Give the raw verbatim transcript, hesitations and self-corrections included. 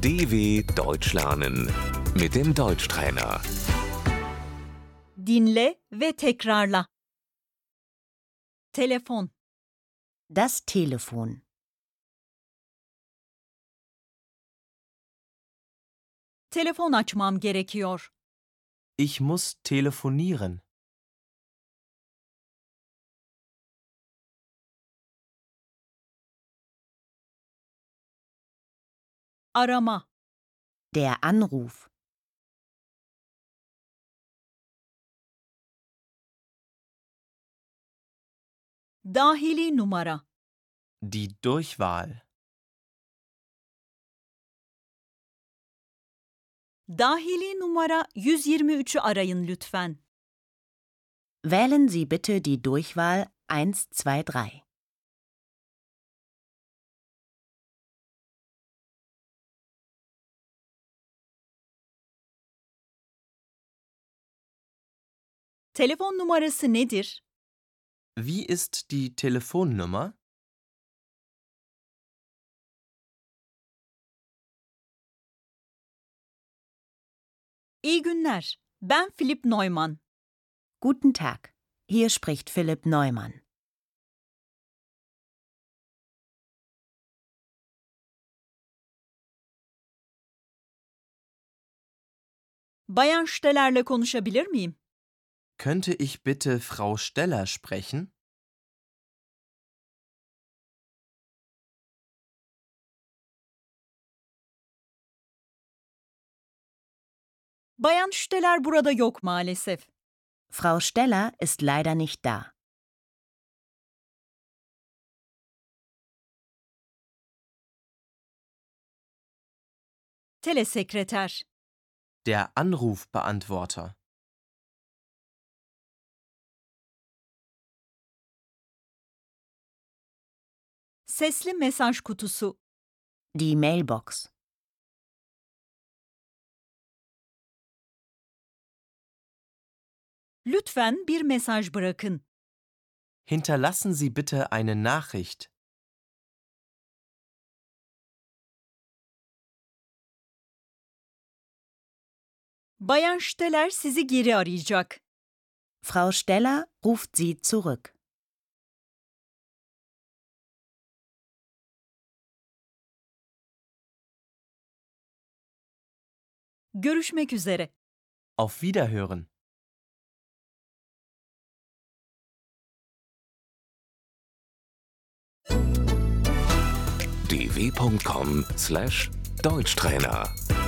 D W Deutsch lernen mit dem Deutschtrainer. Dinle ve tekrarla. Telefon, Das Telefon. telefon açmam gerekiyor. Ich muss telefonieren. Arama, Der Anruf. dahili numara, Die Durchwahl. dahili numara yüz yirmi üçü arayın lütfen. Wählen Sie bitte die Durchwahl eins zwei drei. Telefon numarası nedir? Wie ist die Telefonnummer? İyi günler. Ben Philipp Neumann. Guten Tag. Hier spricht Philipp Neumann. Bayan Steller'le konuşabilir miyim? Könnte ich bitte Frau Steller sprechen? Bayan Steller burada yok maalesef. Frau Steller ist leider nicht da. Telesekreter, Der Anrufbeantworter. sesli mesaj kutusu, Die Mailbox. lütfen bir mesaj bırakın. Hinterlassen Sie bitte eine Nachricht. Bayan Steller sizi geri arayacak. Frau Steller ruft Sie zurück. Görüşmek üzere. Auf Wiederhören. d w punkt com slash Deutschtrainer